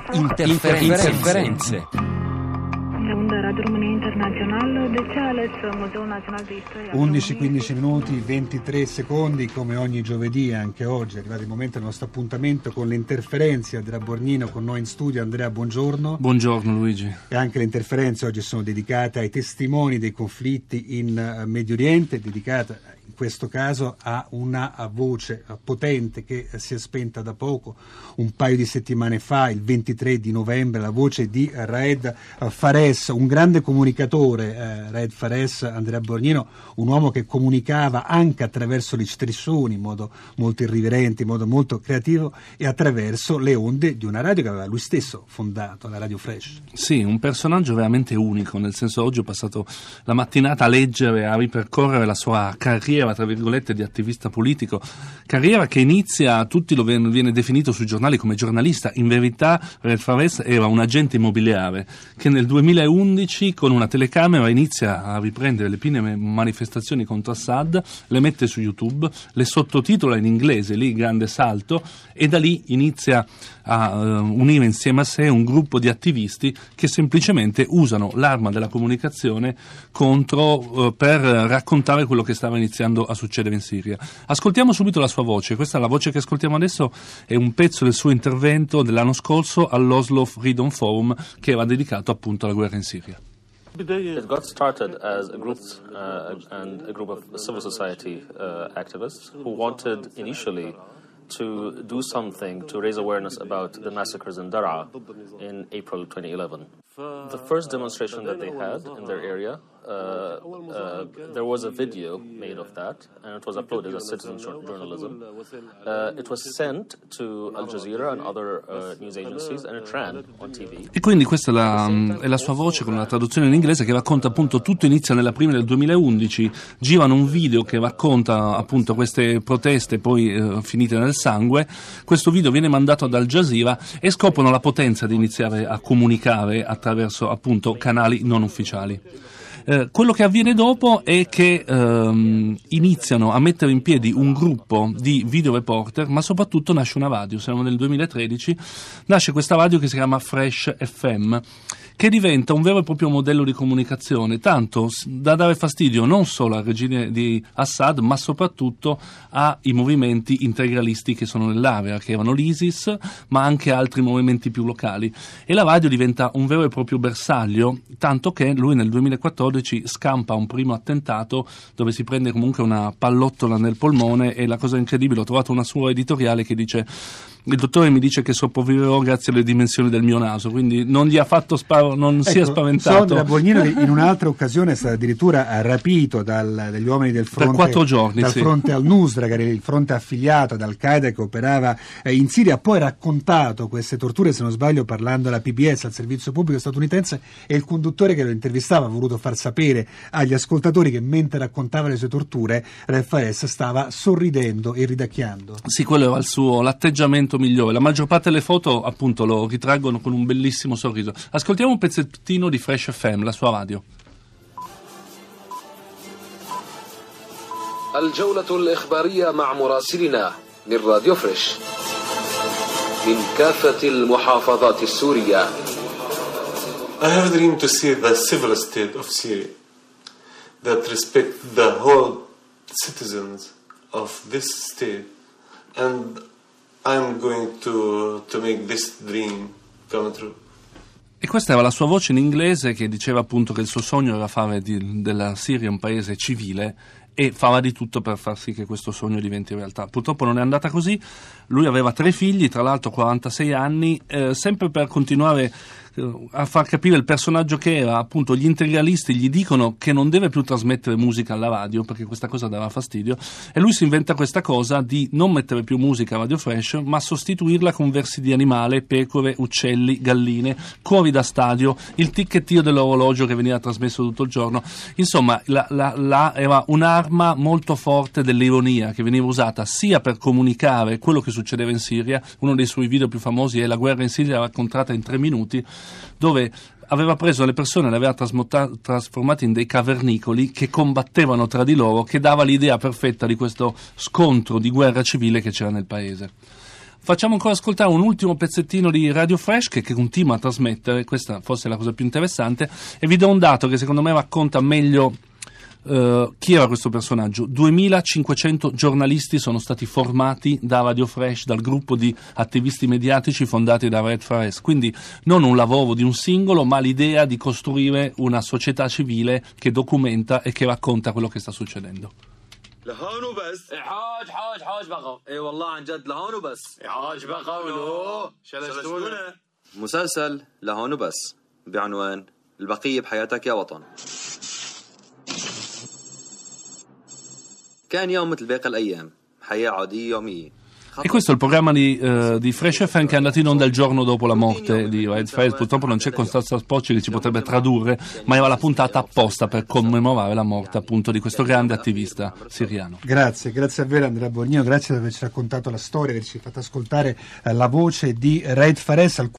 Interferenze. 11-15 minuti, 23 secondi, come ogni giovedì, anche oggi è arrivato il momento del nostro appuntamento con le interferenze. Andrea Borgnino con noi in studio. Andrea, buongiorno. Buongiorno Luigi. E anche le interferenze oggi sono dedicate ai testimoni dei conflitti in Medio Oriente, dedicate in questo caso a una voce potente che si è spenta da poco, un paio di settimane fa, il 23 di novembre, la voce di Raed Fares, un grande comunicatore, Raed Fares, Andrea Borgnino, un uomo che comunicava anche attraverso gli striscioni in modo molto irriverente, in modo molto creativo, e attraverso le onde di una radio che aveva lui stesso fondato, la Radio Fresh. Sì, un personaggio veramente unico, nel senso oggi ho passato la mattinata a leggere, a ripercorrere la sua carriera, tra virgolette, di attivista politico, carriera che inizia, tutti lo viene definito sui giornali come giornalista. In verità Raed Fares era un agente immobiliare che nel 2011 con una telecamera inizia a riprendere le prime manifestazioni contro Assad, le mette su YouTube, le sottotitola in inglese, lì grande salto, e da lì inizia a unire insieme a sé un gruppo di attivisti che semplicemente usano l'arma della comunicazione per raccontare quello che stava iniziando a succedere in Siria. Ascoltiamo subito la sua voce. Questa è la voce che ascoltiamo adesso, è un pezzo del suo intervento dell'anno scorso all'Oslo Freedom Forum, che era dedicato appunto alla guerra in Siria. It got started as a group of civil society activists who wanted initially to do something to raise awareness about the massacres in Daraa in April 2011. The first demonstration that they had in their area, there was a video made of that, and it was uploaded as citizen journalism. It was sent to Al Jazeera and other news agencies, and it ran on TV. E quindi questa è la sua voce con una traduzione in inglese che racconta appunto tutto. Inizia nella prima del 2011, girano un video che racconta appunto queste proteste poi finite nel sangue. Questo video viene mandato ad Al Jazeera e scoprono la potenza di iniziare a comunicare attraverso appunto canali non ufficiali. Quello che avviene dopo è che iniziano a mettere in piedi un gruppo di video reporter, ma soprattutto nasce una radio. Siamo nel 2013, nasce questa radio che si chiama Fresh FM, che diventa un vero e proprio modello di comunicazione, tanto da dare fastidio non solo al regime di Assad, ma soprattutto ai movimenti integralisti che sono nell'area, che erano l'ISIS, ma anche altri movimenti più locali. E la radio diventa un vero e proprio bersaglio, tanto che lui nel 2014 scampa un primo attentato dove si prende comunque una pallottola nel polmone, e la cosa incredibile, ho trovato una sua editoriale che dice: il dottore mi dice che sopravviverò grazie alle dimensioni del mio naso, quindi non gli ha fatto sia spaventato. Andrea Borgnino in un'altra occasione è stato addirittura rapito dagli uomini del fronte, per 4 giorni, dal fronte al-Nusra, che era il fronte affiliato ad Al-Qaeda che operava in Siria. Ha poi raccontato queste torture, se non sbaglio, parlando alla PBS, al servizio pubblico statunitense, e il conduttore che lo intervistava ha voluto far sapere agli ascoltatori che mentre raccontava le sue torture Raed Fares stava sorridendo e ridacchiando. Sì, quello era l'atteggiamento migliore. La maggior parte delle foto appunto lo ritraggono con un bellissimo sorriso. Ascoltiamo un pezzettino di Fresh FM, la sua radio. الجولة الإخبارية مع مراسلنا من راديو فريش من كافة المحافظات السورية. I have a dream to see the civil state of Syria that respect the whole citizens of this state, and I'm going to make this dream come true. E questa era la sua voce in inglese, che diceva appunto che il suo sogno era fare della Siria un paese civile, e fava di tutto per far sì che questo sogno diventi realtà. Purtroppo non è andata così. Lui aveva 3 figli, tra l'altro 46 anni, sempre per continuare a far capire il personaggio che era. Appunto gli integralisti gli dicono che non deve più trasmettere musica alla radio perché questa cosa dava fastidio, e lui si inventa questa cosa di non mettere più musica a Radio Fresh, ma sostituirla con versi di animale, pecore, uccelli, galline, cori da stadio, il ticchettio dell'orologio che veniva trasmesso tutto il giorno. Insomma, era un'arma molto forte dell'ironia che veniva usata sia per comunicare quello che succedeva in Siria. Uno dei suoi video più famosi è La guerra in Siria raccontata in 3 minuti, dove aveva preso le persone e le aveva trasformate in dei cavernicoli che combattevano tra di loro, che dava l'idea perfetta di questo scontro di guerra civile che c'era nel paese. Facciamo ancora ascoltare un ultimo pezzettino di Radio Fresh che continua a trasmettere, questa forse è la cosa più interessante, e vi do un dato che secondo me racconta meglio chi era questo personaggio. 2500 giornalisti sono stati formati da Radio Fresh, dal gruppo di attivisti mediatici fondati da Red Fares, quindi non un lavoro di un singolo, ma l'idea di costruire una società civile che documenta e che racconta quello che sta succedendo. لهون وبس حاج بقى اي والله عن جد لهون وبس حاج بقى ولو شلشتونا مسلسل لهون وبس بعنوان البقية بحياتك يا وطن. كان يوم مثل باقي الأيام حياة عادية يومية. E questo è il programma di Fresh FM che è andato in onda il giorno dopo la morte di Red Fares. Purtroppo non c'è Costanza Spocci che ci potrebbe tradurre, ma era la puntata apposta per commemorare la morte appunto di questo grande attivista siriano. Grazie a voi Andrea Borgnino, grazie per averci raccontato la storia, averci fatto ascoltare la voce di Red Fares.